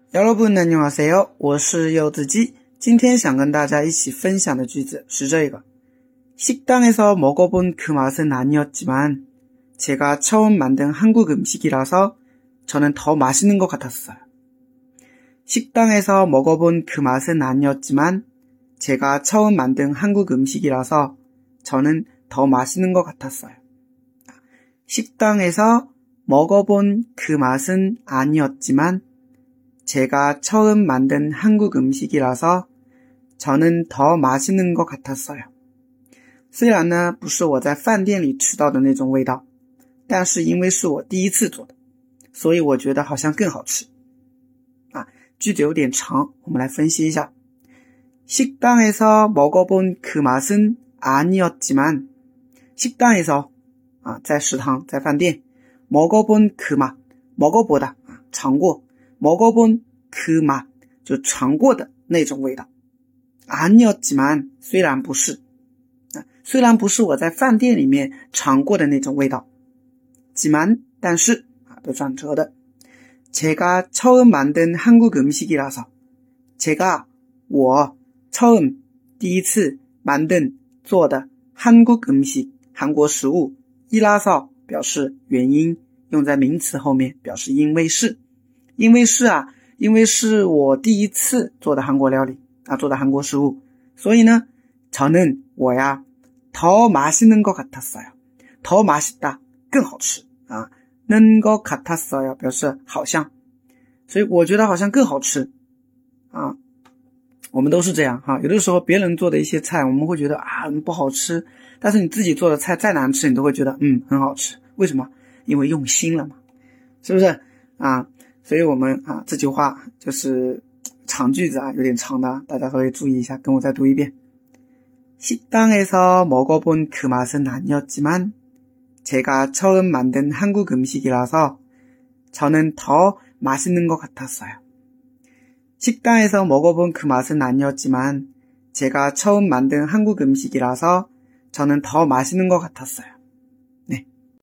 여러분 안녕하세요，我是柚子鸡。今天想跟大家一起分享的句子是这个。식당에서 먹어본 그 맛은 아니었지만 제가 처음 만든 한국 음식이라서 저는 더 맛있는 것 같았어요. 식당에서 먹어본 그 맛은 아니었지만 제가 처음 만든 한국 음식이라서 저는 더 맛있는 것 같았어요. 식당에서 먹어본 그 맛은 아니었지만 제가 처음 만든 한국 음식이라서 저는 더 맛있는 것 같았어요. 虽然呢不是我在饭店里吃到的那种味道，但是因为是我第一次做的，所以我觉得好像更好吃。句子有点长，我们来分析一下。식당에서 먹어본 그 맛은 아니었지만 식당에서在食堂在饭店 먹어본 그 맛 먹어보다尝过 먹어본 그 맛就尝过的那种味道 아니었지만 虽然不是虽然不是我在饭店里面尝过的那种味道 지만 但是有转折的 제가 처음 만든 한국 음식이라서 제가 我 처음 第一次 만든 做的 한국 음식 韩国食物 이라서 表示原因用在名词后面表示因为是因为是我第一次做的韩国料理做的韩国食物所以呢 저는 我呀 더 맛있는 것 같았어요. 더 맛있다 更好吃는 것 같았어요 表示好像所以我觉得好像更好吃我们都是这样有的时候别人做的一些菜我们会觉得不好吃但是你自己做的菜再难吃你都会觉得很好吃为什么因为用心了嘛是不是所以我们这句话就是长句子有点长的大家稍微注意一下跟我再读一遍 식당에서 먹어본 그 맛은 아니었지만 제가 처음 만든 한국 음식이라서 저는 더 맛있는 것 같았어요. 식당에서 먹어본 그 맛은 아니었지만 제가 처음 만든 한국 음식이라서 저는 더 맛있는 것 같았어요.